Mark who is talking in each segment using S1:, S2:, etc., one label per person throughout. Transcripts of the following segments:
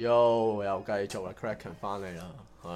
S1: 又繼續啦 ，Kraken 翻嚟啦，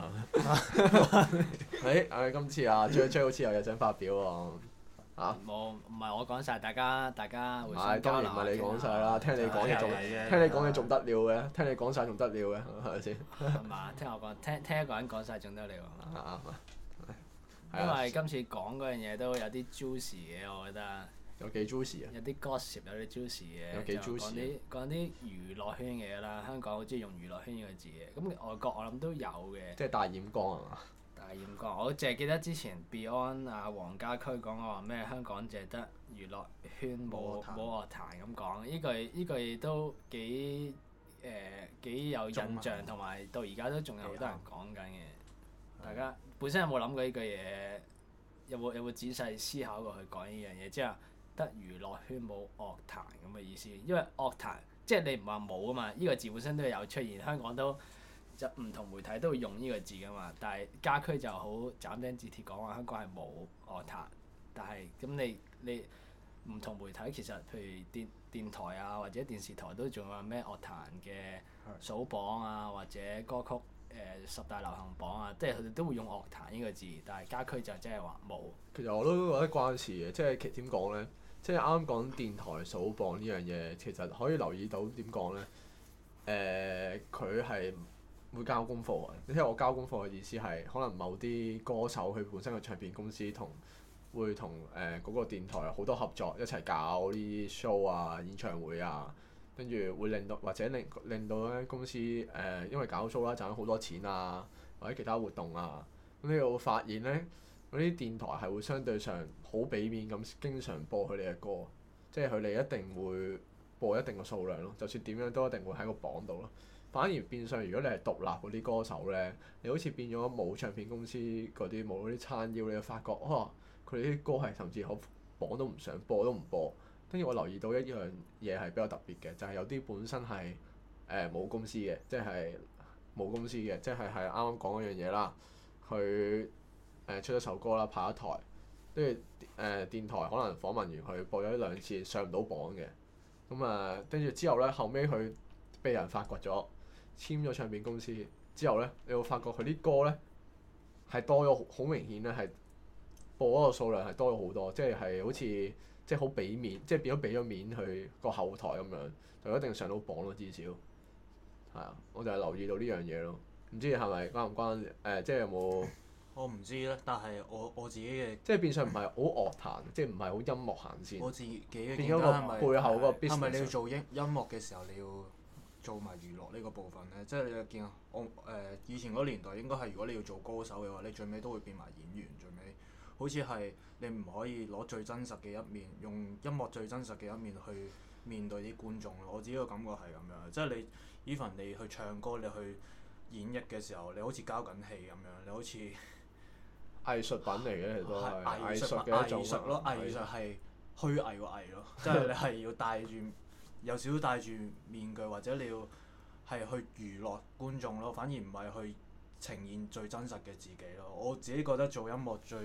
S1: 今次啊 J 好似有嘢想發表喎，
S2: 冇，唔係我講晒，大家互
S1: 係
S2: 相交流
S1: 當然唔係你講晒啦，聽你講嘢仲
S2: 啫。
S1: 聽你講嘢仲得了嘅，聽你講晒仲得了嘅，係咪先？
S2: 係嘛？聽我講，聽一個人講晒仲得了。
S1: 係
S2: 因為今次講嗰樣嘢都有啲 juicy 嘅，我覺得。
S1: 有幾 juicy 啊？
S2: 有啲 gossip，有啲 juicy 嘅。
S1: 有幾 juicy？
S2: 講啲娛樂圈嘅嘢啦，香港好中意用娛樂圈呢個字嘅，咁外國我諗都有嘅。
S1: 即係大染缸係嘛？
S2: 大染缸，我淨係記得之前 Beyond 啊黃家駒講過話咩香港淨係得娛樂圈冇樂壇咁講，呢句都幾有印象，同埋到而家都仲有好多人講緊嘅。大家本身有冇諗過呢句嘢？有冇仔細思考過去講呢樣嘢？即係得娛樂圈冇樂壇咁嘅意思，因為樂壇即係你唔話冇啊嘛，呢個字本身都有出現，香港都就唔同媒體都會用呢個字噶嘛。但係家駒就好斬釘截鐵講話香港係冇樂壇，但係咁你唔同媒體其實譬如電台啊或者電視台都仲有咩樂壇嘅數榜啊或者歌曲十大流行榜啊，即係佢哋都會用樂壇呢個字，但係家駒就真係話冇。
S1: 其實我都覺得關事嘅，即係點講咧？即係啱啱講電台數榜呢樣嘢，其實可以留意到點講咧？佢係會交功課嘅。你聽我交功課嘅意思係，可能某啲歌手佢本身嘅唱片公司會同嗰個電台好多合作，一齊搞呢啲 show 啊、演唱會啊，跟住會令到或者令到間公司因為搞 show 啦賺咗好多錢啊，或者其他活動啊，咁你會發現咧。嗰啲電台係會相對上好俾面咁，經常播佢哋嘅歌，即係佢哋一定會播一定嘅數量咯。就算點樣都一定會喺個榜度咯。反而變相，如果你係獨立嗰啲歌手咧，你好似變咗冇唱片公司嗰啲冇嗰啲撐腰，你就發覺佢哋啲歌係甚至好榜都唔上，播都唔播。跟住我留意到一樣嘢係比較特別嘅，就係有啲本身係冇公司嘅，即係冇公司嘅，即係啱啱講嗰樣嘢啦，佢。出咗首歌啦，派一台，跟住電台可能訪問完佢播咗1-2次上唔到榜嘅，咁跟住之後咧，後尾佢被人發掘咗，簽咗唱片公司之後咧，你會發覺佢啲歌咧係多咗，好明顯咧係播嗰個數量係多咗好多，即係好似即係好俾面，即係變咗俾咗面去個後台咁樣，就一定上到榜咯，至少係啊，我就係留意到呢樣嘢咯，唔知係咪關唔關即係有冇？
S3: 我唔知咧，但係我自己嘅
S1: 即係變相唔係好樂壇，即係唔係好音樂行先。
S3: 我自己嘅
S1: 變咗個背後嗰個 business。
S3: 係咪你要做音樂嘅時候，你要做埋娛樂呢個部分咧？即係你又見我以前嗰年代應該係如果你要做歌手嘅話，你最尾都會變埋演員，最尾好似係你唔可以攞最真實嘅一面，用音樂最真實嘅一面去面對啲觀眾咯。我自己個感覺係咁樣，即係你 even 你去唱歌，你去演繹嘅時候，你好似交緊戲咁樣，你好似〜
S1: 藝術品嚟嘅，其實都係藝術嘅一種。
S3: 藝術咯，藝術係虛偽個偽咯，即係你係要戴住有少少戴住面具，或者你要係去娛樂觀眾咯，反而唔係去呈現最真實嘅自己咯。我自己覺得做音樂最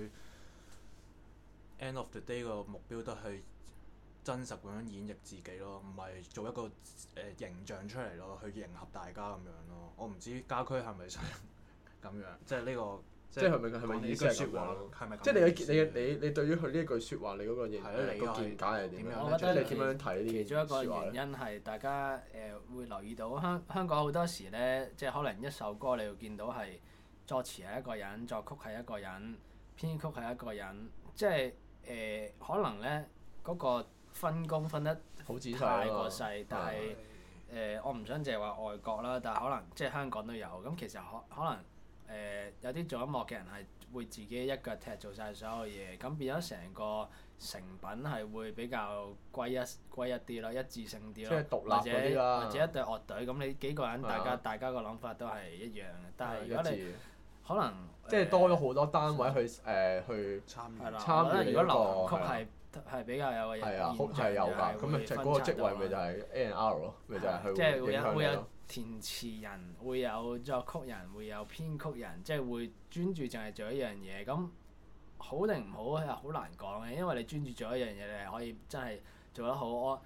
S3: end of the day 個目標都係真實咁樣演繹自己咯，唔係做一個形象出嚟咯，去迎合大家咁樣咯。我唔知家駒係咪想咁樣，即係呢個。
S1: 即係係咪意思係咁樣？
S3: 係咪？
S1: 即係你對於佢呢一句説話，你嗰個見解係點樣？
S2: 我覺得
S1: 你點樣睇呢啲説話咧？
S2: 其中一個原因係大家會留意到香港好多時咧，即係可能一首歌你會見到係作詞係一個人，作曲係一個人，編曲係一個人，即係可能咧嗰個分工分得
S1: 好仔細
S2: 太過細，但係我唔想淨係話外國啦，但係可能即係香港都有咁，其實可能。有啲做音樂嘅人係會自己一腳踢做晒所有嘢，咁變咗成個成品係會比較歸一啲咯，一致性啲咯。
S1: 即係獨立嗰啲啦。
S2: 或者一隊樂隊咁，你幾個人大家個諗法都係一樣嘅，但係如果你可能
S1: 即係多咗好多單位去參與
S2: 如果流行曲係比較有個現象
S1: 係有㗎，咁咪就嗰個職位咪就係 A&R 咯，咪就係
S2: 即係
S1: 佢
S2: 會有填詞人，會有作曲人，會有編曲人，即係會專注淨係做一樣嘢。咁好定唔好係好難講嘅，因為你專注做一樣嘢，你係可以真係做得好。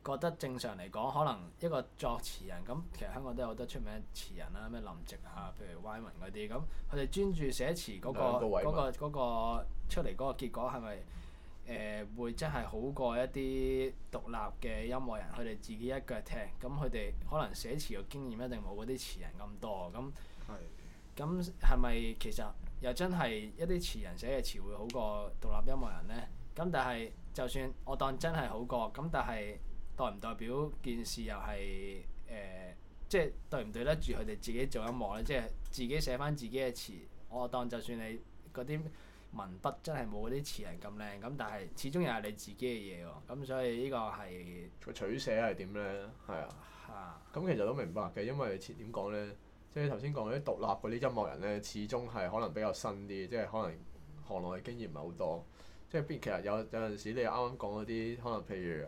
S2: 覺得正常嚟講，可能一個作詞人咁，其實香港都有好多出名詞人啦，咩林夕啊，譬如 Y 文嗰啲，咁佢哋專注寫詞嗰個出嚟嗰個結果係咪會真係好過一啲獨立嘅音樂人，佢哋自己一腳踢，咁佢哋可能寫詞嘅經驗一定冇嗰啲詞人咁多，咁係咪其實又真係一啲詞人寫嘅詞會好過獨立音樂人呢？咁但係就算我當真係好過，咁但係代唔代表件事又係即係對唔對得住佢哋自己做音樂呢？即係自己寫翻自己嘅詞，我當就算你嗰啲文筆真係冇嗰啲詞人咁靚，咁但係始終又係你自己嘅嘢喎。咁所以呢個係
S1: 個取捨係點呢？係啊。咁其實都明白嘅，因為點講呢？即係頭先講嗰啲獨立嗰啲音樂人呢，始終係可能比較新啲，即係可能行內嘅經驗唔係好多。即係其實有陣時你啱啱講嗰啲，可能譬如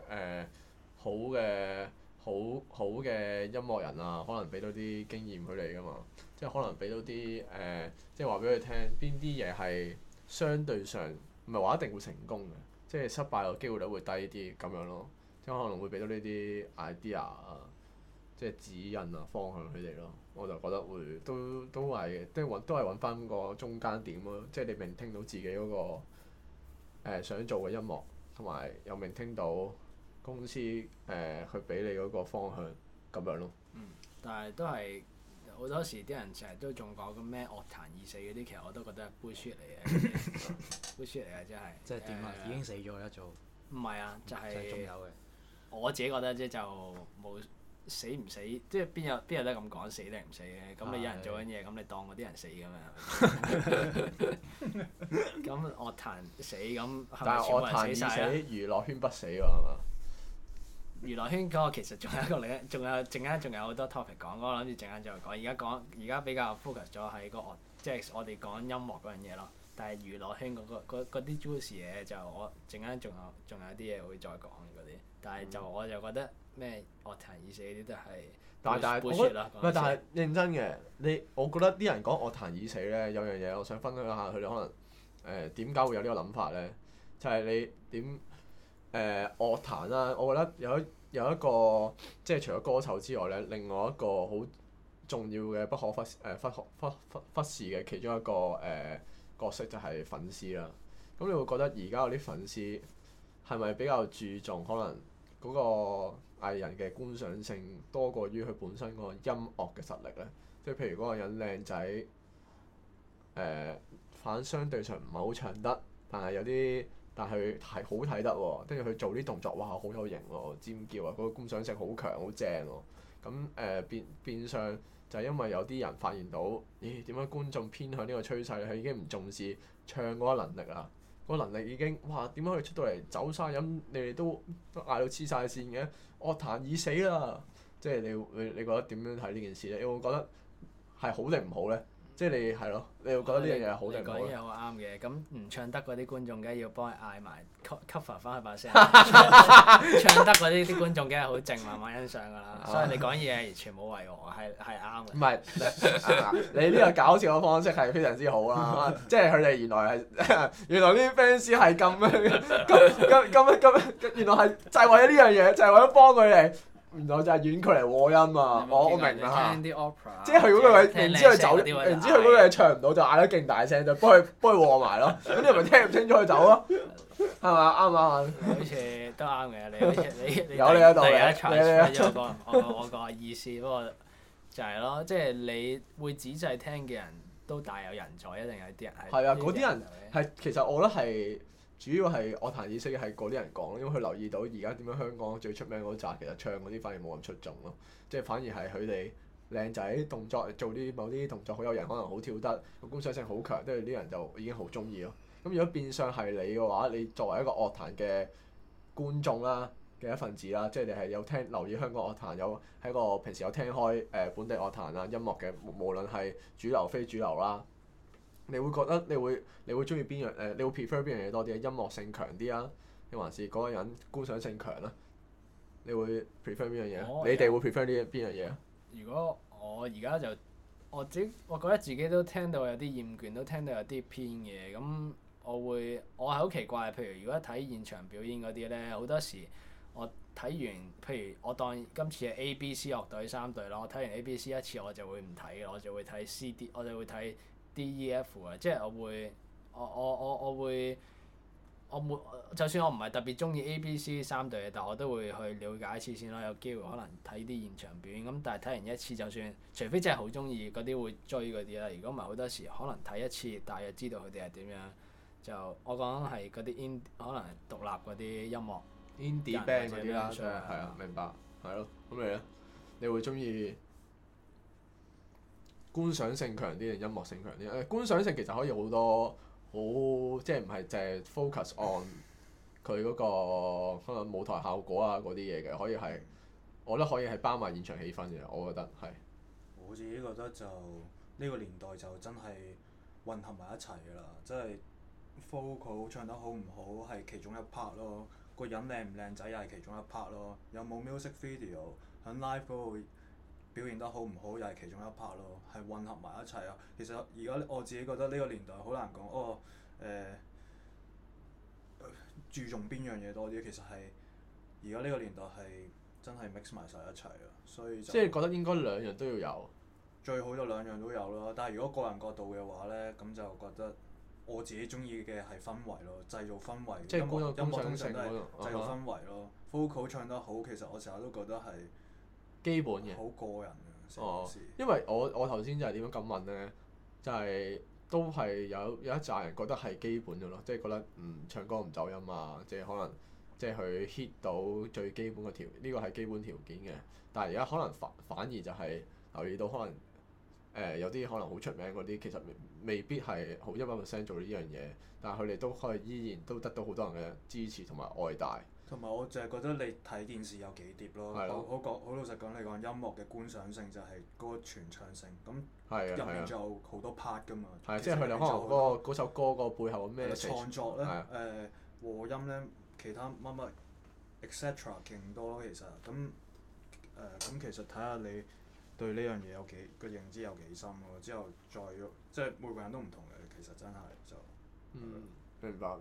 S1: 好嘅音樂人啊，可能俾到啲經驗佢哋㗎嘛。即係可能俾到啲即係話俾佢聽邊啲嘢係相對上唔係話一定會成功嘅，即係失敗嘅機會率會低啲咁樣咯。即係可能會俾到呢啲 idea 啊，即係指引啊方向佢哋咯。我就覺得會都係嘅，都係揾翻個中間點咯。即係你聆聽到自己嗰個想做嘅音樂，同埋又聆聽到公司去俾你嗰個方向咁樣咯。
S2: 但係都係好多時啲人成日都仲講緊咩樂壇已死嗰啲，其實我都覺得係 bullshit 嚟嘅，bullshit 嚟嘅真係。
S3: 即係點啊？已經死咗一早。
S2: 唔係啊，就係
S3: 仲有嘅。我
S2: 自己覺得啫，就冇死唔死，即係邊有得咁講死定唔死嘅？咁你有人做緊嘢，咁你當嗰啲人死㗎嘛？咁樂壇死咁，
S1: 但係樂壇已死，娛樂圈不死喎，係嘛？
S2: 娛樂圈嗰個其實仲有一個仲有好多 topic 講，我諗住陣間再講。而家比較 focus 咗喺個樂，即係我哋講音樂嗰樣嘢咯。但係娛樂圈嗰啲 juicy 嘢就我陣間仲有啲嘢會再講嗰啲。但係我就覺得咩樂壇已死嗰啲都係，
S1: 但係我覺得但係認真嘅，我覺得啲人講樂壇已死咧，有樣嘢我想分享下佢哋可能點解會有呢個諗法咧？就係你點樂壇啦，我覺得有一個即係除咗歌手之外咧，另外一個好重要嘅不可忽視嘅其中一個角色就係粉絲啦。咁你會覺得而家嗰啲粉絲係咪比較注重可能嗰個藝人嘅觀賞性多過於佢本身嗰個音樂嘅實力咧？即係譬如嗰個人靚仔，反相對上唔係好唱得，但係佢係好睇得喎，跟住佢做啲動作，哇，好有型喎，尖叫啊，嗰個觀賞性好強，好正喎。咁變相就係因為有啲人發現到，咦，點解觀眾偏向呢個趨勢？佢已經唔重視唱嗰個能力啦，嗰個能力已經，哇，點解佢出到嚟走晒音，你哋都嗌到黐晒線嘅？樂壇已死啦！即係你覺得點樣睇呢件事咧？你會覺得係好定唔好咧？即係你係咯，你會覺得呢樣嘢係好定唔好咧？
S2: 你講嘢好啱嘅，咁唔唱得嗰啲觀眾，梗係要幫佢嗌埋 cover 翻佢把聲。唱得嗰啲觀眾梗係好靜，慢慢欣賞㗎啦。所以你講嘢完全冇違和，係啱嘅。
S1: 唔係，你呢個搞笑嘅方式係非常之好啦。即係佢哋原來啲 fans 係咁原來係就係為咗呢樣嘢，就係為咗幫佢哋。原來就係遠距離和音啊！我明啦，
S2: 聽啲 opera，
S1: 即係佢嗰個位，明知佢走，明知佢嗰個嘢唱唔到，就嗌得勁大聲，就幫佢和埋咯。咁你咪聽唔清楚佢走咯，係嘛？啱唔啱啊？
S2: 好似都啱嘅，你好似你
S1: 有你喺度
S2: 嘅。我個意思，不過就係咯，即係你會仔細聽嘅人都大有人在，一定有啲人係。
S1: 係啊，嗰啲人係其實我覺得係。主要係樂壇已死嘅係嗰啲人講，因為佢留意到而家點樣香港最出名嗰紮，其實唱嗰啲反而冇咁出眾咯，即係反而係佢哋靚仔動作做某啲動作好有型，可能好跳得，個觀賞性好強，跟住啲人就已經好中意咯。咁如果變相係你嘅話，你作為一個樂壇嘅觀眾啦嘅一份子啦，即係你係有留意香港樂壇，喺個平時有聽開本地樂壇啊音樂嘅，無論係主流非主流啦。你會覺得你會中意邊樣？你會 prefer 邊樣嘢多啲？音樂性強啲啊，定還是嗰個人觀賞性強啊？你會 prefer 邊樣嘢？你哋會 prefer 邊樣嘢啊？
S2: 如果我而家就我覺得自己都聽到有啲厭倦，都聽到有啲偏嘅，咁我係好奇怪。譬如如果睇現場表演嗰啲咧，好多時我睇完，譬如我當今次係 A、B、C 樂隊3隊啦，我睇完 A、B、C 一次我就會唔睇嘅，我就會睇 C、D， 我就會睇 D、E、F 嘅，即係我會就算我唔係特別中意 A、B、C 3隊嘅，但我都會去了解一次先咯，有機會可能睇啲現場表演。咁但係睇完一次，就算除非真係好中意嗰啲會追嗰啲啦，如果唔係好多時可能睇一次，大約知道佢哋係點樣。就我講係嗰啲可能係獨立嗰啲音樂
S1: indie band 嗰啲啦，係啊，明白，係咯。咁你咧？你會中意觀賞性強啲定音樂性強啲？觀賞性其實可以好多，即係唔係淨係 focus on 佢嗰個可能舞台效果啊嗰啲嘢嘅，可以係我覺得可以係包埋現場氣氛嘅，我覺得係。
S3: 我自己覺得就呢個年代就真係混合埋一齊㗎啦，即係 vocal 唱得好唔好係其中一 part 咯，個人靚唔靚仔又係其中一 part 咯，有冇 music video 喺 live 嗰度表現得好唔好又係其中一 part 咯，係混合埋一齊啊！其實而家我自己覺得呢個年代好難講注重邊樣嘢多啲，其實係而家呢個年代係真係 mix 埋晒一齊啊，所以就
S1: 即係覺得應該兩樣都要有。
S3: 最好就兩樣都有咯，但係如果個人角度嘅話咧，咁就覺得我自己中意嘅係氛圍咯，製造氛圍。
S1: 即係
S3: 音樂通常
S1: 性
S3: 都係製造氛圍咯。vocal 唱得好，其實我成日都覺得係
S1: 基本嘅。
S3: 好個人嘅成件事。
S1: 因為我頭先就係點樣咁問咧，就係都係有一紮人覺得係基本嘅咯，即係覺得唱歌唔走音啊，即係可能即係佢 hit 到最基本嘅條，呢個係基本條件嘅。但係而家可能反而就係留意到可能。有啲可能好出名嗰啲，其實未必係好100% 做呢樣嘢，但係佢哋都可以依然都得到好多人嘅支持同埋愛戴。
S3: 同埋我就係覺得你睇電視有幾碟咯，好老實講，你講音樂嘅觀賞性就係嗰個傳唱性，咁入面仲有好多 part 㗎嘛。
S1: 係即係佢哋可能嗰首歌個背後咩
S3: 創作咧，和音咧，其他乜乜 etc 勁多咯，其實咁其實睇下你對呢樣嘢有幾個認知有幾深咯，之後再即係每個人都唔同嘅，其實真係就
S1: 明白。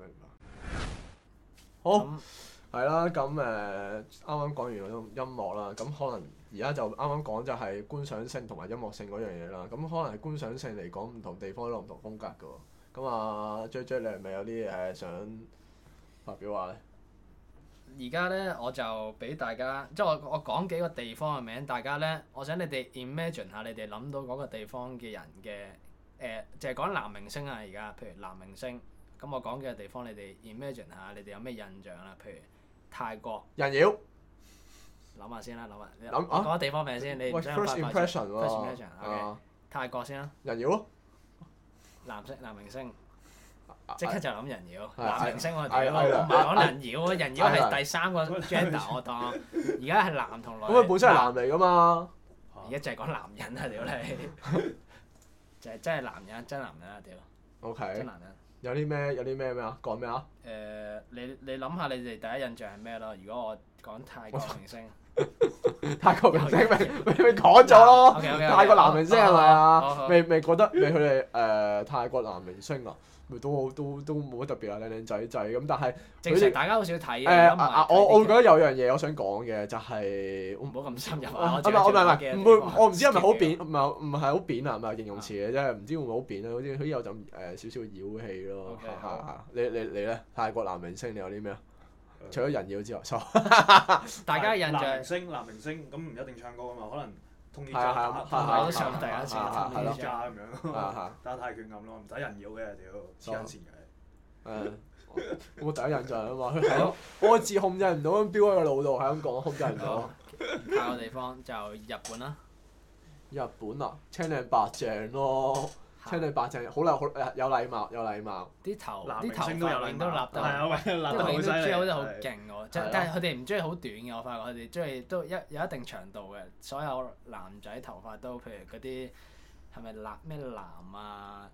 S1: 好，係啦，咁啱啱講完嗰種音樂啦，咁可能而家就啱啱講就係觀賞性同埋音樂性嗰樣嘢啦。咁可能係觀賞性嚟講，唔同地方都有唔同風格㗎喎。咁啊，J，你係咪有啲想發表下咧？
S2: 而家咧我就俾大家，即係我講幾個地方嘅名，大家咧，我想你哋 imagine 下，你哋諗到嗰個地方嘅人嘅就係講男明星啊！而家譬如男明星，咁我講嘅地方，你哋 imagine 下，你哋有咩印象啦？譬如泰國。
S1: 人妖。
S2: 諗下先啦，諗下。講個地方名先，你唔想
S1: First impression 喎。
S2: First impression，OK。泰國先啦。
S1: 人妖咯。
S2: 男明星。即刻就諗人妖，
S1: 係
S2: 男明星我哋唔係講人妖啊，人妖係第三個 gender 我當，而家係男同女。
S1: 咁佢本身係男嚟㗎嘛？
S2: 而家就係講男人啊！屌你，就係真係男人，真男人啊！屌。
S1: OK。
S2: 真男人。
S1: 有啲咩啊？講咩啊？
S2: 你諗下你哋第一印象係咩咯？如果我講泰國明星。
S1: 泰國明星咪講咗咯，泰國男明星係咪啊？未覺得佢哋泰國男明星啊，咪都冇乜特別啊，靚仔咁，但係
S2: 正常大家好少睇嘅。
S1: 我會覺得有樣嘢我想講嘅就係
S2: 唔好咁深入啊！
S1: 唔會，我唔知係咪好扁，唔係好扁啊，唔係形容詞嘅啫，唔知會唔會好扁啊？好似有陣少少妖氣咯。你咧？泰國男明星你有啲咩啊？除咗人妖之外，
S2: 大家印象
S3: 男明星咁唔一定唱歌㗎嘛，可能通啲
S2: 我都唱第一次
S3: 通啲咁樣，打泰拳咁咯，唔使人妖嘅屌，黐線嘅。
S1: 我第一印象啊嘛，佢係咯，我自控制唔到咁飆喺個腦度，係咁講控制唔到。
S2: 下個地方就日本啦。
S1: 日本啊，青靚白淨咯。青靚白淨，好有禮貌。
S2: 啲頭髮
S3: 都有禮貌，
S2: 都立得，啲永都追好似好勁喎。但係佢哋唔中意好短嘅，我發覺佢哋中意都有一定長度嘅。所有男仔頭髮都，譬如嗰啲係咪咩藍啊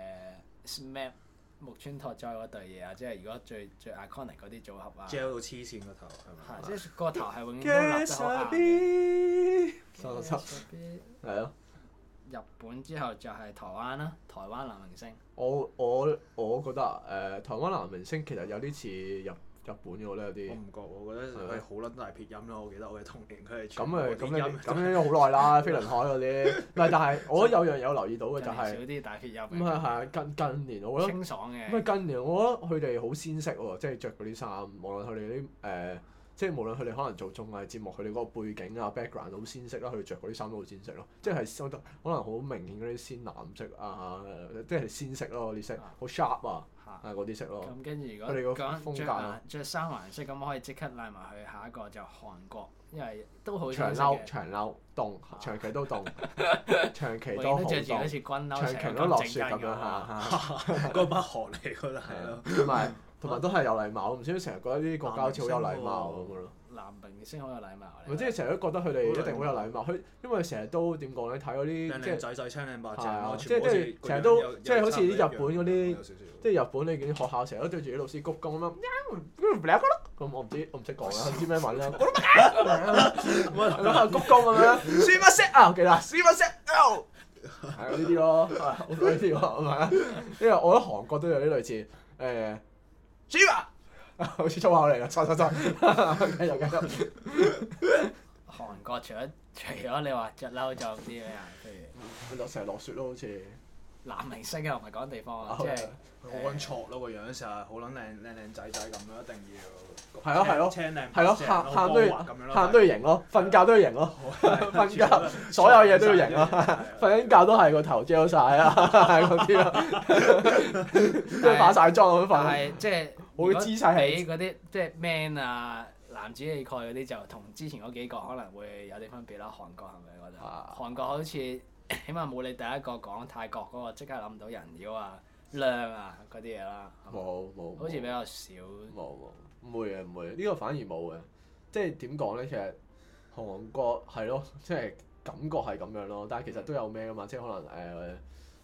S2: ？SMAP 木村拓哉嗰對嘢啊，即係如果最 iconic 嗰啲組合啊。
S3: gel 到黐線個頭係咪？
S2: 係，即係個頭係永遠都立得好硬。
S1: 係咯。
S2: 日本之後就係台灣啦，台灣男明星。
S1: 我覺得台灣男明星其實有啲似日本嘅我覺得有啲。
S3: 我唔覺，我覺得佢好撚大撇音咯。我記得我嘅童年佢係
S1: 咁誒
S3: 全部啲音
S1: 咁樣好耐啦，飛輪海嗰啲。唔係，但係我覺得有樣有留意到嘅就係、
S2: 少啲大血音。
S1: 咁係啊，近年我覺得
S2: 清爽嘅。
S1: 咁近年我覺得佢哋好鮮色喎，即係着嗰啲衫，無論佢哋啲即係無論佢哋可能做綜藝節目，佢哋嗰個背景啊 background 好鮮色啦，佢哋着嗰啲衫都好鮮色咯，即係收得可能好明顯嗰啲鮮藍色啊，即係鮮色咯，嗰啲色好 sharp 啊，嗰啲色咯。
S2: 咁跟住如
S1: 佢哋個
S2: 果
S1: 風格
S2: 着三環色，咁可以即刻拉埋去下一個就韓國，因為都好
S1: 長褸凍，長期都凍，長期都好
S2: 着住好
S1: 凍，
S2: 似軍褸，
S1: 長期都落雪咁樣嚇。
S3: 嗰班韓嚟㗎啦，係咯。
S1: 同埋都係有禮貌，唔知點解成日覺得呢啲國家好似好有禮貌咁樣咯。
S2: 男明星好有禮貌。
S1: 唔即係成日都覺得佢哋一定好有禮貌，因為成日都點講咧？睇嗰啲
S3: 靚仔仔青靚白淨咯，
S1: 即係成日都即係好似啲日本嗰啲，即係日本你見啲學校成日都對住啲老師鞠躬咁樣，咁我唔識講啦，唔知咩文啦，咁鞠躬咁樣，輸乜色啊？我記得輸乜色？係呢啲咯，好多呢啲喎，係咪啊？因為我覺得韓國都有啲類似輸啊！好似粗口嚟㗎，錯，繼續。
S2: 韓國除咗你話着褸就啲咩啊？譬如
S1: 成日落雪咯，好似
S2: 男明星啊，唔係講地方啊，即係
S3: 好撚挫咯個樣，成日好撚靚仔仔咁樣，一定要
S1: 係咯，
S3: 青靚
S1: 係咯，喊都要型咯，瞓覺都要型咯，瞓覺所有嘢都要型咯，瞓緊覺都係個頭遮晒啊，嗰啲咯，即係化晒妝咁瞓。
S2: 但係即係
S1: 我嘅姿勢係
S2: 比嗰啲即係 man 啊男子氣概嗰啲就同之前嗰幾個可能會有啲分別啦。韓國係咪覺得？韓國好似起碼冇你第一個講泰國嗰個即刻諗唔到人妖啊、靚啊嗰啲嘢啦。
S1: 冇，
S2: 好似比較少。
S1: 冇，唔會嘅，呢個反而冇嘅。即係點講咧？其實韓國係咯，即係感覺係咁樣咯。但係其實都有咩㗎嘛？即係可能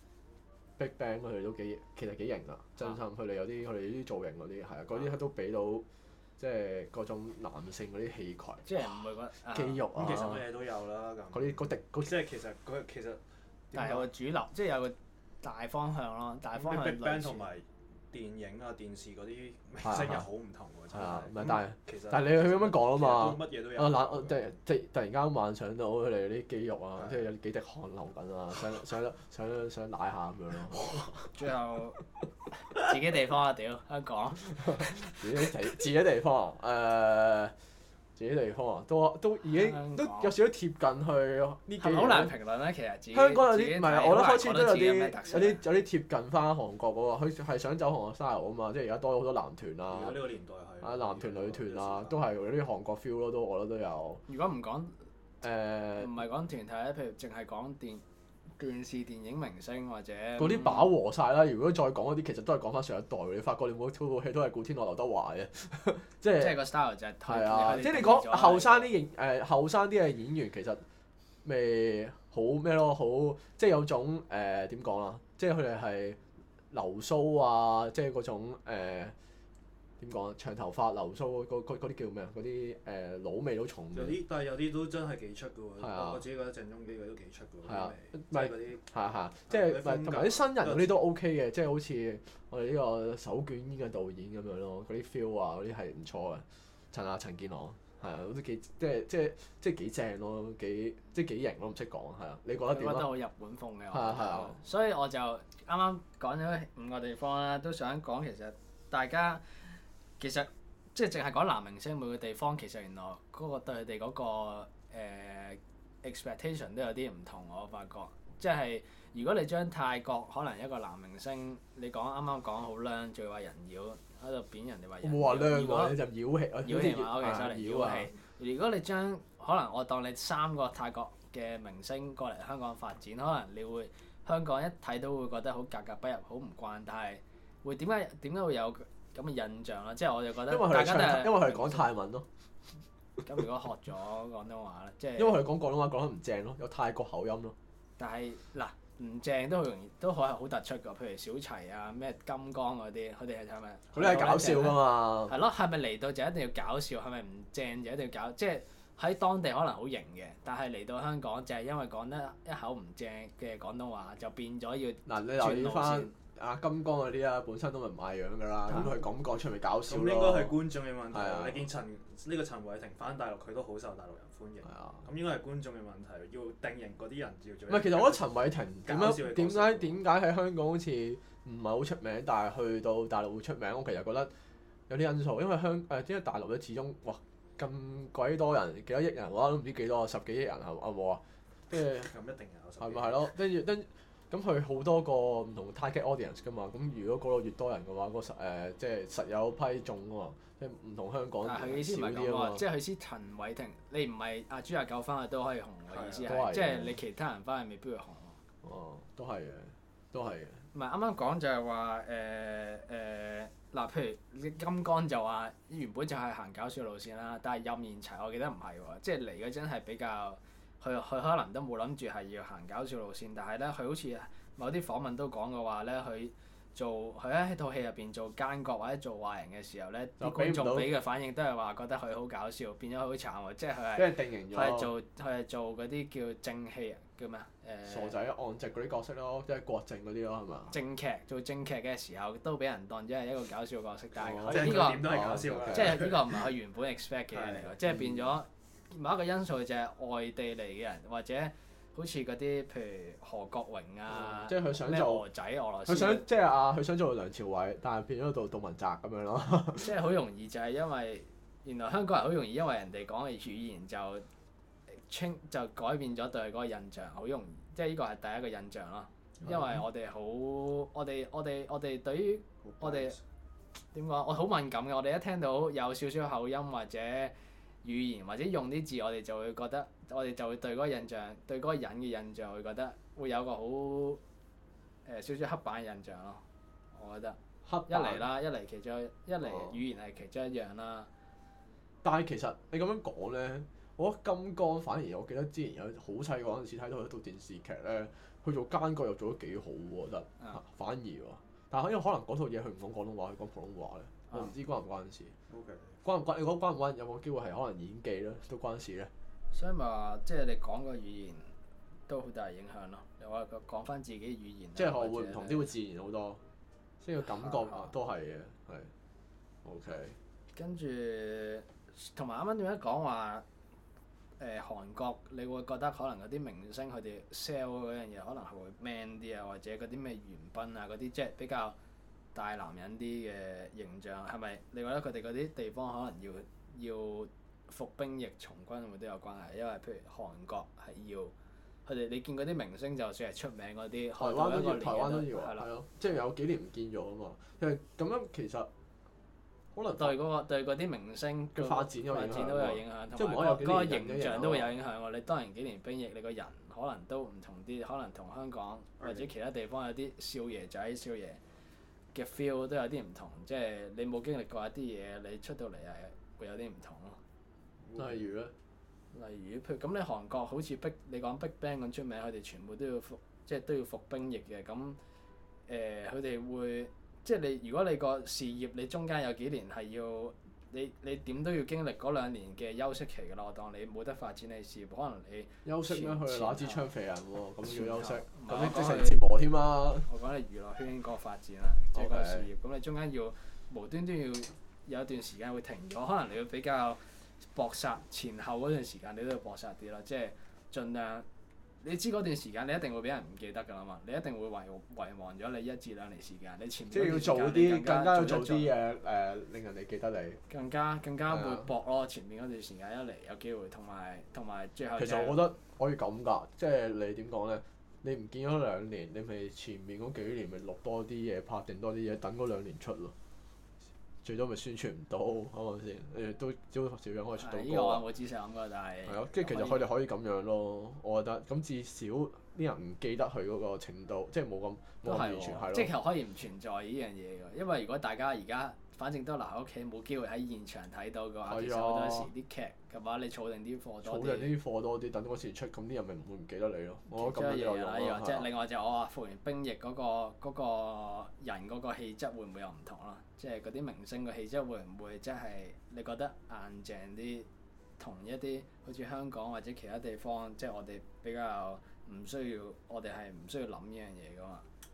S1: BigBang 佢哋都其實幾型啊！真心佢哋佢哋啲造型嗰啲係啊，嗰啲都俾到即係嗰種男性嗰啲氣概，
S2: 即係唔會覺得
S1: 肌肉啊，
S3: 其實乜嘢都有啦咁。
S1: 嗰啲
S3: 即係其實
S2: 但係有個主流，即係有個大方向咯。大方向
S3: BigBang 同埋電影啊、電視嗰啲明星又好唔同喎，真係。
S1: 唔係，
S3: 其實
S1: 但係你咁樣講啊嘛，
S3: 乜嘢都有。
S1: 我突然間幻想到佢哋啲肌肉啊，即係有幾滴汗流緊啊，想舐下咁樣咯。
S2: 最後自己地方啊，屌香港！
S1: 自己地方自己地方啊，都已經都有少少貼近去呢幾年。
S2: 好難評論咧，其實自己。
S1: 香港有啲唔係，我覺得開始都有啲貼近翻韓國嗰個，佢係想走韓國 style 啊嘛，即係而家多咗好多男團啊。
S3: 而家呢個年代係。
S1: 男團女團啊，都係有啲韓國 feel 咯，我覺得都有。
S2: 如果唔講唔係講團體咧，譬如淨係講電視電影明星或者
S1: 嗰啲飽和晒啦。如果再講嗰啲，其實都係講翻上一代。你發覺你每套戲都係古天樂、劉德華嘅，即係個
S2: style 就係
S1: 係啊！即係你講後生啲嘅演員，其實咪好咩咯？好即係有種點講啊？即係佢哋係留鬚啊！即係嗰種點講啊？長頭髮留鬚嗰啲叫咩啊？嗰啲老味都重嘅。
S3: 但係有啲都真係幾出嘅喎。
S1: 啊、
S3: 我自己覺得鄭中基嗰啲都幾出嘅喎。
S1: 係啊，
S3: 即係嗰啲
S1: 係，即係同埋啲新人嗰啲都 OK 嘅，即係好似我哋呢個手捲煙嘅導演咁樣咯，嗰啲 feel 啊嗰啲係唔錯嘅。陳健朗係啊，都幾即係幾正咯，幾型咯，唔識講係啊。你覺得點啊？
S2: 我覺得好日本風嘅。
S1: 係啊。
S2: 所以我就啱啱講咗5個地方啦，都想講其實大家。其實即係淨係講男明星每個地方，其實原來嗰個對佢哋嗰個expectation 都有啲唔同。我發覺即係如果你將泰國可能一個男明星，你講啱啱講好靚，仲要話人妖喺度貶人哋話人妖。
S1: 冇話靚喎，你就妖氣啊！
S2: 妖氣嘛，OK，sorry，妖氣。如果你將可能我當你3個泰國嘅明星過嚟香港發展，可能你會香港一睇都會覺得好格格不入，好唔慣，但係會點解會有咁嘅印象啦？即係我就覺得大家都係
S1: 因為佢哋講泰文咯。
S2: 咁如果學咗廣東話咧，即係
S1: 因為佢哋講廣東話講得唔正咯，有泰國口音咯。
S2: 但係嗱，唔正都好容易，都可係好突出㗎。譬如小齊啊、咩金剛嗰啲，佢哋係咪？
S1: 佢哋係搞笑㗎嘛。
S2: 係咯，係咪嚟到就一定要搞笑？係咪唔正就一定要搞？即係喺當地可能好型嘅，但係嚟到香港就係因為講得一口唔正嘅廣東話，就變咗要
S1: 嗱，你留意翻阿金剛嗰啲啊，本身都唔賣樣㗎啦，咁佢咁講出嚟搞笑咯。
S3: 咁應該係觀眾嘅問題。
S1: 係啊
S3: 你見陳偉霆翻大陸，佢都好受大陸人歡迎。
S1: 係啊。
S3: 咁應該係觀眾嘅問題，要定型嗰啲人要做。
S1: 唔係，其實我覺得陳偉霆
S3: 搞笑嘅角色
S1: 點解喺香港好似唔係好出名，但係去到大陸會出名？我其實覺得有啲因素，因為因為大陸咧始終哇咁鬼多人，幾多億人，我都唔知幾多，10幾億人係冇啊？跟住
S3: 咁一定有。
S1: 係咪係咯？跟住咁佢好多個唔同 target audience 㗎嘛。咁如果嗰度越多人嘅話，即係實有批中㗎嘛。即係唔同香港
S2: 但係佢意思唔係咁
S1: 少啲啊嘛
S2: 喎，即係佢意思陳偉霆，你唔係阿朱亞救翻去都可以紅嘅意思
S1: 都係
S2: 係，即係你其他人翻去未必會紅喎。
S1: 哦，都係嘅，都係嘅。
S2: 唔係啱啱講就係話嗱，譬如金剛就話原本就係行搞笑路線啦，但係任賢齊我記得唔係喎，即係嚟嗰陣係比較佢可能都冇諗住係要行搞笑路線，但係咧佢好似某啲訪問都講過話咧，佢喺套戲入邊做奸角或者做壞人嘅時候咧，啲觀眾俾嘅反應都係話覺得佢好搞笑，變咗佢好慘喎，即係佢
S1: 俾人定型咗。
S2: 佢係做嗰啲叫正戲叫咩啊？
S1: 傻仔岸直嗰啲角色咯，即係郭靖嗰啲咯，係嘛？
S2: 做正劇嘅時候都俾人當咗係一個搞笑角色，但係
S3: 即係
S2: 佢呢個
S3: 點都係搞笑㗎。
S2: 即係呢個唔係佢原本 expect 嘅嘢嚟㗎，即係變咗某一個因素就係外地嚟嘅人，或者好似嗰啲譬如何國榮啊，
S1: 即係佢想
S2: 咩
S1: 做
S2: 俄仔俄羅斯，
S1: 佢想做梁朝偉，但係變咗做杜汶澤咁樣咯。
S2: 即係好容易就係因為原來香港人好容易因為人哋講嘅語言就改變咗對佢嗰個印象，好容易，即係呢個係第一個印象咯。因為我哋對於我哋點講，我好敏感嘅，我哋一聽到有少少口音或者語言或者用啲字，我哋就會覺得，我哋就會對嗰個印象，對嗰個人嘅印象會覺得會有個好少少刻板嘅印象咯。我覺得一嚟啦，一嚟語言係其中一樣啦。
S1: 但係其實你咁樣講咧，我覺得金剛反而我記得之前有好細個嗰陣時睇到一套電視劇咧，佢做奸角又做得幾好喎，我覺得。反而喎，但係因為可能嗰套嘢佢唔講廣東話，佢講普通話咧，我唔知關唔關事。
S3: OK。
S1: 關唔關？你講關唔關？有冇機會係可能演技咧都關事咧？
S2: 所以咪話，即係你講個語言都好大影響咯。又話講翻自己語言，
S1: 即係我會唔同啲會自然好多，即係個感覺都係嘅，係。OK。
S2: 跟住同埋啱啱點解講話韓國，你會覺得可能嗰啲明星佢哋 sell 嗰樣嘢可能係會 man 啲啊，或者嗰啲咩元彬啊嗰啲，即係比較大男人啲嘅形象，係咪？你覺得佢哋嗰啲地方可能要服兵役從軍會唔會都有關係？因為譬如韓國係要佢哋，你見嗰啲明星就算係出名嗰啲，
S1: 台灣都要，
S2: 係咯，
S1: 即係有幾年唔見咗啊嘛。因為咁樣其實可能
S2: 對嗰啲明星
S1: 嘅發展都
S2: 有影響，同埋嗰個形象都會有影響喎。你當然幾年兵役，你個人可能都唔同啲，可能同香港或者其他地方有啲少爺仔少爺嘅 feel 都有啲唔同，即係你冇經歷過一啲嘢，你出到嚟係會有啲唔同咯。
S1: 例如咧？
S2: 例如譬如咁，你韓國好似你講 BigBang 咁出名，佢哋全部都要服兵役嘅，咁佢哋會即係如果你個事業你中間有幾年係要你點都要經歷嗰2年嘅休息期㗎啦。我當你冇得發展你事業，可能你
S1: 休息咩？佢攞支槍肥人喎，咁要休息，咁
S2: 你
S1: 即成折磨添啦。
S2: 我講你娛樂圈嗰個發展啊，即係個事業，咁你中間要無端端要有一段時間會停咗，可能你要比較搏殺前後嗰段時間，你都要搏殺啲啦，即係盡量。你知嗰段時間你一定會俾人唔記得㗎啦嘛，你一定會遺忘咗你1至2年時間，你前面
S1: 即係要做啲更加要做啲嘢令人哋記得你。
S2: 更加會搏咯，前面嗰段時間一嚟有機會，同埋最後。
S1: 其實我覺得可以咁㗎，即係你點講咧？你唔見咗2年，你咪前面嗰幾年咪錄多啲嘢，拍定多啲嘢，等嗰2年出咯。最多咪宣傳唔到，係咪先？都照樣可以出到歌。
S2: 呢個我冇知識諗過，但係。
S1: 係咯，即係其實佢哋可以咁樣咯，我覺得。咁至少啲人唔記得佢嗰個程度，即係冇咁完全係咯。
S2: 即係可以唔存在呢樣嘢㗎，因為如果大家而家反正都留喺屋企，冇機會喺現場睇到嘅話，其實好多時啲劇嘅話，你儲定啲貨多啲。
S1: 儲定啲貨多啲，等嗰時出，咁啲人咪唔會唔記得你咯。我覺得咁樣有用咯。
S2: 即係另外就我話服完兵役嗰個人嗰個氣質會唔會有唔同咯？即係嗰啲明星嘅氣質會唔會即係你覺得硬淨啲，同一啲好似香港或者其他地方，即係我哋比較唔需要，我哋係唔需要諗呢樣嘢噶嘛？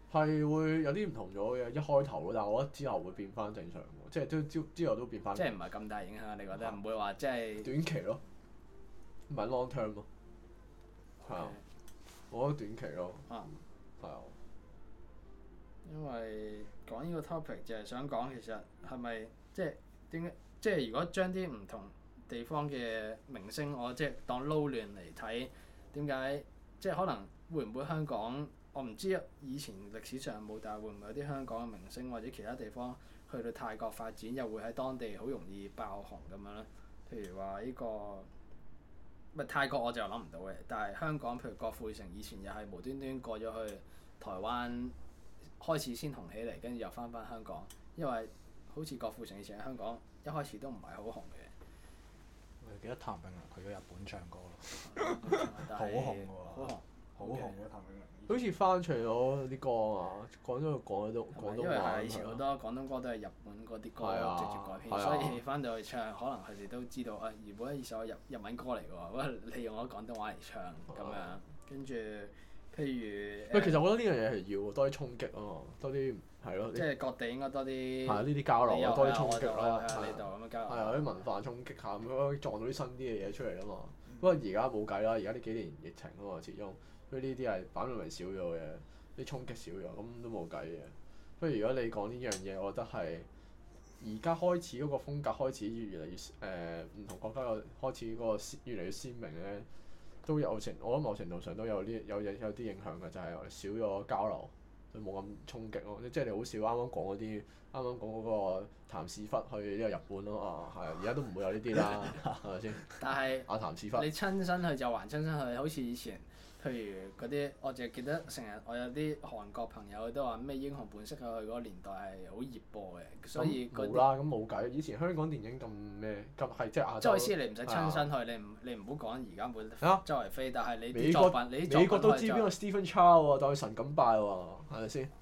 S1: 係會有啲唔同咗嘅，一開頭咯，但係我覺得之後會變翻正常喎，即係都之後都變翻。
S2: 即係唔係咁大影響？你覺得唔會話即係
S1: 短期咯，唔係 long term 咯，係啊，我覺得短期咯，係啊。
S2: 因為講呢個 topic 就係想講其實係咪即係點解即係如果將啲唔同地方嘅明星我即係當撈亂嚟睇，點解即係可能會唔會香港我唔知以前歷史上冇，但係會唔會有啲香港嘅明星或者其他地方去到泰國發展又會喺當地好容易爆紅咁樣咧？譬如話呢個唔係泰國我就諗唔到嘅，但係香港譬如郭富城以前又係無端端過咗去台灣。開始先紅起嚟，跟住又翻香港，因為好似郭富城以前喺香港一開始都唔係好紅嘅。
S3: 我記得譚詠麟去咗日本唱歌咯，好紅喎，好紅嘅譚詠麟。
S1: 好似翻唱咗啲歌啊，講咗廣東話。
S2: 因為係以前好多廣東歌都係日本嗰啲歌直接改編，所以翻到去唱，可能佢哋都知道啊，原本係一首日文歌嚟嘅喎，喂，你用咗廣東話嚟唱咁樣，跟住。譬如
S1: 喂，其實我覺得呢樣嘢係要多啲衝擊啊嘛，多啲係咯。
S2: 即係各地應該多啲。
S1: 係啊，呢啲交流多啲衝擊咯。
S2: 喺呢度咁樣交流。
S1: 係啊，啲文化衝擊下咁樣撞到啲新啲嘅嘢出嚟啊嘛。不過而家冇計啦，而家呢幾年疫情啊嘛，始終所以呢啲係反為少咗嘅，啲衝擊少咗，咁都冇計嘅。不過如果你講呢樣嘢，我覺得係而家開始嗰個風格開始越嚟越唔同國家嘅開始嗰個越嚟越鮮明咧。都有我覺得某程度上都有啲影響嘅，就係少咗交流，就冇咁衝擊咯。即係你好少啱啱講嗰個譚屎忽去呢個日本咯啊，係而家都唔會有呢啲啦，係咪先？
S2: 但係
S1: 阿譚屎忽，
S2: 你親身去就還親身去，好似以前，譬如嗰啲，我淨係記得成日我有啲韓國朋友都話咩英雄本色去嗰個年代係好熱播嘅，所以
S1: 冇啦，咁冇計。以前香港電影咁咩咁係即係亞洲。
S2: 即係意思你唔使親身去，你唔好講而家冇周圍飛，但係你啲作品，
S1: 美國都知邊個 Stephen Chow 喎，代神咁拜喎，係咪先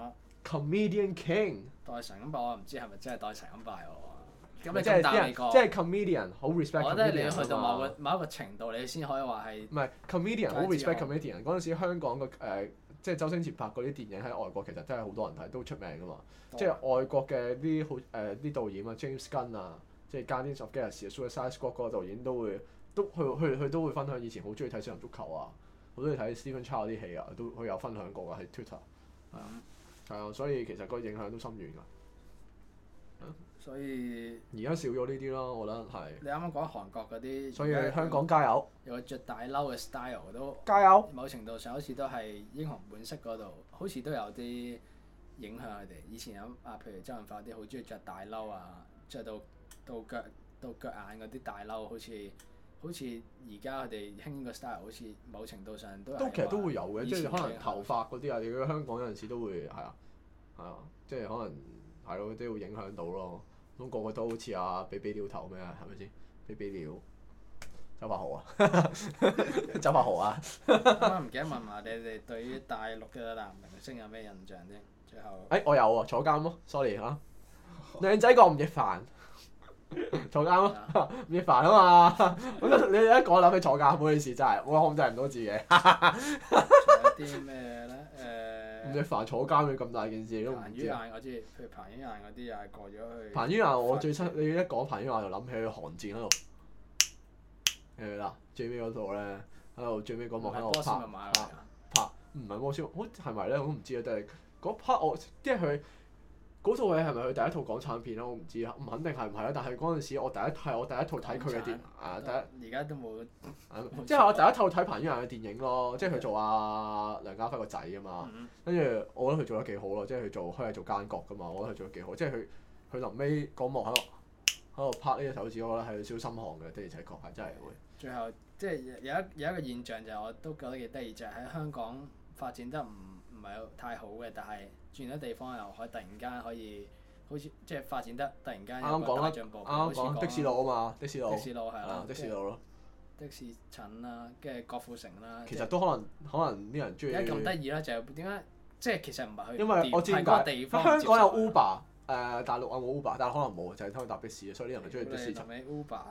S1: ？Comedian King。
S2: 代神咁拜我唔知係咪真係代神咁拜喎。咁你
S1: 即係啲人即係 comedian 好 respect。
S2: 我覺得你要去到某一個程度，你先可以話係。
S1: 唔係 comedian 好 respect comedian。嗰陣時香港即係周星馳拍嗰啲電影喺外國其實真係好多人睇，都出名噶嘛。即係外國嘅啲好啲導演啊 ，James Gunn 啊，即係 Guardians of Galaxy、Suicide Squad 嗰個導演佢都會分享以前好中意睇小人足球啊，好中意睇 Stephen Chow 啲戲啊，佢有分享過㗎喺 Twitter。係啊，所以其實個影響都深遠㗎。
S2: 所以
S1: 而家少咗呢啲咯，我覺得係。
S2: 你啱啱講韓國嗰啲，
S1: 所以香港加油！
S2: 有個着大褸嘅 style 都
S1: 加油！
S2: 某程度上好似都係英雄本色嗰度，好似都有啲影響佢哋。以前有譬如周潤發啲好中意着大褸啊，着到腳眼嗰啲大褸，好似而家佢哋興個 style，好似某程度上都
S1: 其實都會有嘅，即係可能頭髮嗰啲啊，如果香港有陣時都會係啊，即係可能係咯，都會影響到咯。咁個個都好似比比鳥頭咩啊？係咪先？比比鳥，周柏豪啊，周柏豪啊。
S2: 啱啱唔記得問埋你哋對於大陸嘅男明星有咩印象啫？最後。
S1: 我有喎，坐監咯，sorry 嚇。靚仔過吳亦凡，坐監咯，吳亦凡啊嘛。你一講諗起坐監，唔好意思，真係我控制唔到自己。
S2: 仲有啲咩咧？
S1: 吳亦凡坐監嘅咁大件事，你都唔知。
S2: 彭于晏我知，譬如彭于晏嗰啲又係過咗去。
S1: 彭于晏我最親，你一講彭于晏就諗起佢寒戰喺度，記唔記得？最尾嗰度咧，喺度最尾嗰幕喺度拍，唔係魔仙，好係咪咧？我都唔知啊。但係嗰 part 即係佢嗰套嘢係咪佢第一套港產片咧？我唔知啊，唔肯定係唔係啦。但係嗰陣時我第一套睇佢嘅電
S2: 而家都冇。
S1: 即係我第一套睇彭于晏嘅電影咯，即係佢做梁家輝個仔啊嘛。跟住我覺得佢做得幾好咯，即係佢係做奸角噶嘛，我覺得佢做得幾好。即係佢臨尾嗰幕喺度拍呢隻手指，我覺得係少心寒嘅，的而且確係真係會。
S2: 最後即係有一個現象就係我都覺得幾得意，就係喺香港發展得唔係太好嘅，但係轉咗地方又可以突然間可以好似即係發展得突然間有個大進步。
S1: 啱講的士佬啊嘛，的士佬
S2: 係啦，
S1: 的士佬咯。
S2: 的士陳啦，跟住郭富城啦。
S1: 其實都可能啲人中意。
S2: 而家咁得意啦，就係點解？即係其實唔係去。
S1: 因為我知點解。香港有 Uber，大陸有冇 Uber？但係可能冇，就係偷搭的士，所以啲人咪中意的士陳。
S2: Uber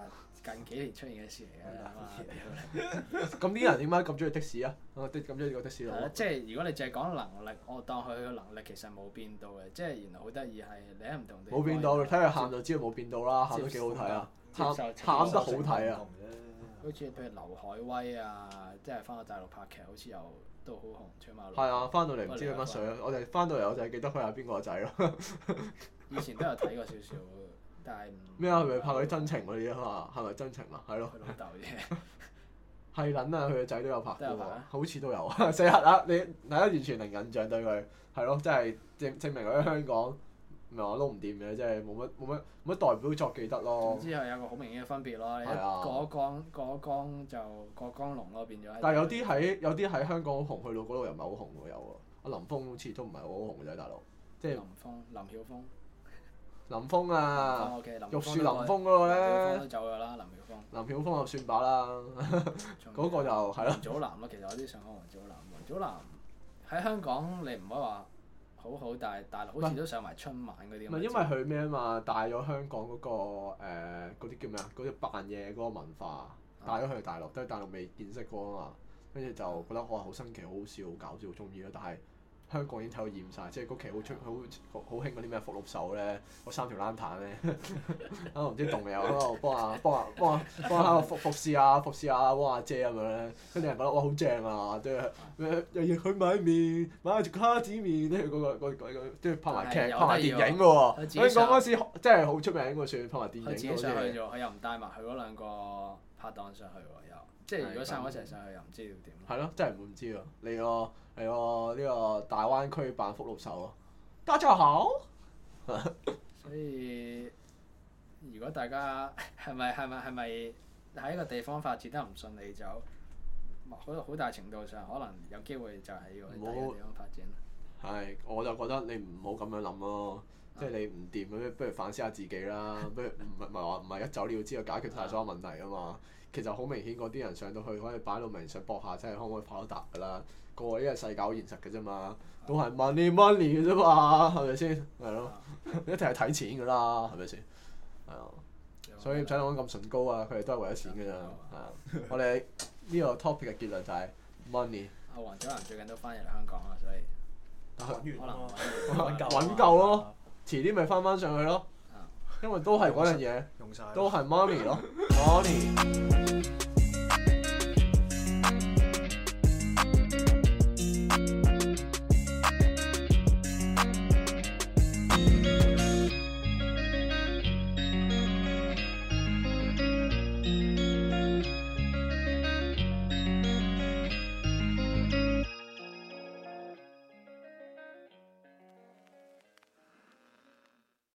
S2: 近幾年出現嘅事嚟嘅。
S1: 咁啲人點解咁中意的士啊？咁中意個的士佬。
S2: 即係如果你淨係講能力，我當佢嘅能力其實冇變到嘅，即係原來好得意係你喺唔同地方。
S1: 冇變到，睇佢喊就知道冇變到啦，喊得幾好睇啊！喊得好睇啊！
S2: 好似譬如劉愷威啊，即係翻到大陸拍劇，好似又都好紅，出馬路。
S1: 係啊，翻到嚟唔知佢乜水啊！我哋翻到嚟我就係記得佢係邊個仔咯。
S2: 以前都有睇過少少，但係唔
S1: 咩啊？佢咪拍嗰啲真情嗰啲啊嘛？係咪真情啊？係咯。
S2: 佢老豆啫。
S1: 係撚啊！佢個仔都有拍過喎
S2: 都有拍，
S1: 好似都有啊！死核啊！你大家完全零印象對佢，係咯，真係證明佢喺香港唔係話撈唔掂嘅，即係冇乜代表作記得咯。
S2: 總之係有個好明顯嘅分別咯。你一
S1: 係啊
S2: 過江就過江龍咯，變咗。
S1: 但係有啲喺香港好紅，去到嗰度又唔係好紅喎，有喎。阿林峰好似都唔係好紅嘅啫，大佬。即係
S2: 林曉峰。
S1: 林峰啊！
S2: 林
S1: 玉樹臨風嗰個
S2: 林曉峰
S1: 咧
S2: 都，走咗啦，林曉峰。
S1: 林曉峰就算把啦，嗰個就係咯。
S2: 王祖藍咯，其實我啲想講王祖藍。王祖藍喺香港你唔可以話好好，但係大陸好似都上埋春晚嗰啲咁。
S1: 唔係因為佢咩啊嘛，帶咗香港嗰個嗰啲叫咩啊？嗰啲扮嘢嗰個文化帶咗去大陸，都係大陸未見識過啊嘛。跟住就覺得哇好新奇、好好笑、好搞笑、好中意咯。但係香港已經睇到厭晒，即係嗰期好興嗰啲咩福祿壽咧，嗰3條冷炭咧，啊唔知動未有喺度幫下服侍下汪阿姐咁樣咧，跟住人覺得哇好正啊，即係日日去買麵買住卡子麵，跟住嗰個即係拍埋劇拍埋電影嘅喎，香港嗰時真係好出名喎，算拍埋電影嗰啲。
S2: 佢自己上去咗，佢又唔帶埋佢嗰兩個拍檔上去喎，又即係如果3個一齊上去又唔知要點。
S1: 係咯，真係唔知喎，嚟個呢個大灣區扮福祿壽啊！大家好。
S2: 所以如果大家係咪喺一個地方發展得唔順利，就好大程度上可能有機會就係要去第二個地方發展。
S1: 係，我就覺得你唔好咁樣諗咯，即係你唔掂咁，不如反思下自己啦。不如唔係一走了之就解決晒所有問題啊嘛。其實好明顯，嗰啲人上到去可以擺到明想搏下，真係可唔可以跑得達㗎啦？個個呢個世界好現實嘅啫嘛，都係 money 嘅啫嘛，係咪先？係咯，一定係睇錢㗎啦，係咪先？係啊，所以唔使諗咁崇高啊，佢哋都係為咗錢㗎咋。係啊，我哋呢個 topic 嘅結論就係 money。
S2: 阿黃祖藍最近都翻嚟香港啦，所以可能
S1: 揾夠咯，遲啲咪翻上去咯，因為都係嗰樣嘢，都係 money 咯，money。